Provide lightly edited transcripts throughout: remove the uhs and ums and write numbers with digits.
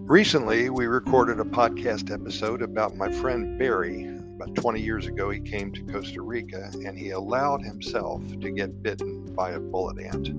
Recently, we recorded a podcast episode about my friend Barry. About 20 years ago, he came to Costa Rica and he allowed himself to get bitten by a bullet ant.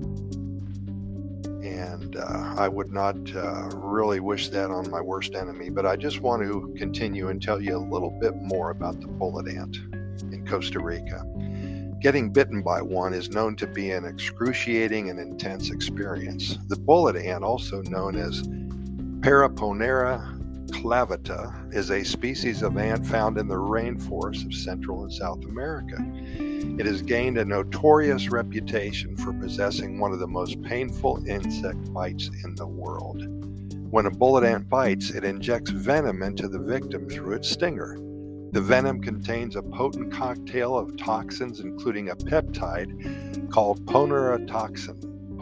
And I would not really wish that on my worst enemy, but I just want to continue and tell you a little bit more about the bullet ant in Costa Rica. Getting bitten by one is known to be an excruciating and intense experience. The bullet ant, also known as Paraponera clavata, is a species of ant found in the rainforests of Central and South America. It has gained a notorious reputation for possessing one of the most painful insect bites in the world. When a bullet ant bites, it injects venom into the victim through its stinger. The venom contains a potent cocktail of toxins, including a peptide called poneratoxin,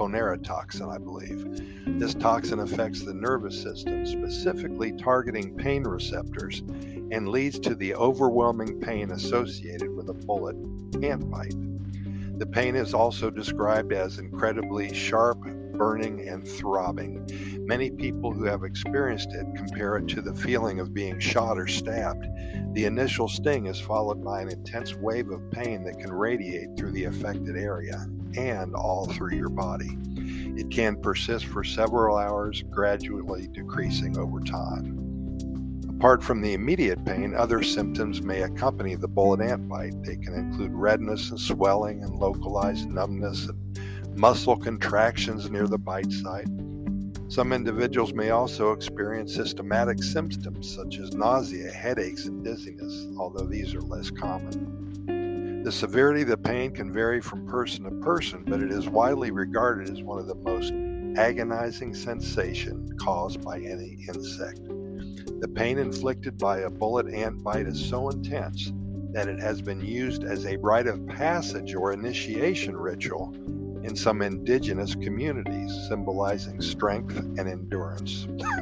I believe. This toxin affects the nervous system, specifically targeting pain receptors, and leads to the overwhelming pain associated with a bullet ant bite. The pain is also described as incredibly sharp, burning, and throbbing. Many people who have experienced it compare it to the feeling of being shot or stabbed. The initial sting is followed by an intense wave of pain that can radiate through the affected area and all through your body. It can persist for several hours, gradually decreasing over time. Apart from the immediate pain, other symptoms may accompany the bullet ant bite. They can include redness and swelling and localized numbness and muscle contractions near the bite site. Some individuals may also experience systematic symptoms such as nausea, headaches, and dizziness, although these are less common. The severity of the pain can vary from person to person, but it is widely regarded as one of the most agonizing sensations caused by any insect. The pain inflicted by a bullet ant bite is so intense that it has been used as a rite of passage or initiation ritual in some indigenous communities, symbolizing strength and endurance.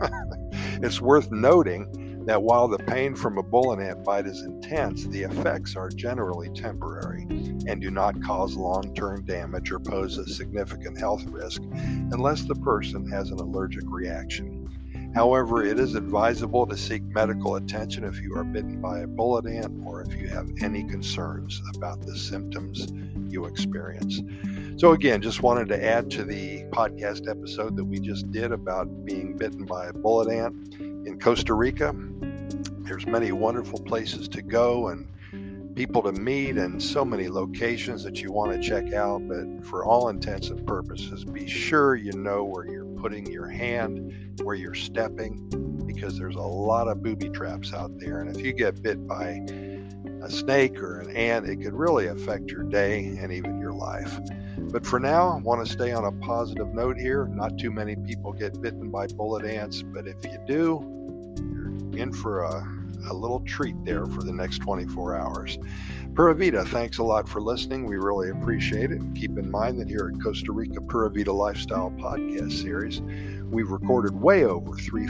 It's worth noting that while the pain from a bullet ant bite is intense, the effects are generally temporary and do not cause long-term damage or pose a significant health risk unless the person has an allergic reaction. However, it is advisable to seek medical attention if you are bitten by a bullet ant or if you have any concerns about the symptoms you experience. So again, just wanted to add to the podcast episode that we just did about being bitten by a bullet ant in Costa Rica. There's many wonderful places to go and people to meet and so many locations that you want to check out, but for all intents and purposes, be sure you know where you're putting your hand, where you're stepping, because there's a lot of booby traps out there. And if you get bit by a snake or an ant, it could really affect your day and even your life. But for now, I want to stay on a positive note here. Not too many people get bitten by bullet ants, but if you do, you're in for a little treat there for the next 24 hours. Pura Vida, thanks a lot for listening. We really appreciate it. And keep in mind that here at Costa Rica Pura Vida Lifestyle Podcast Series, we've recorded way over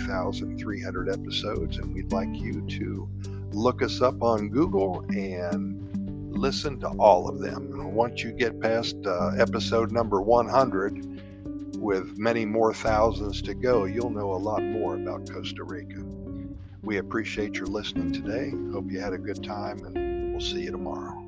3,300 episodes, and we'd like you to look us up on Google and listen to all of them. And once you get past episode number 100, with many more thousands to go, you'll know a lot more about Costa Rica. We appreciate your listening today. Hope you had a good time, and we'll see you tomorrow.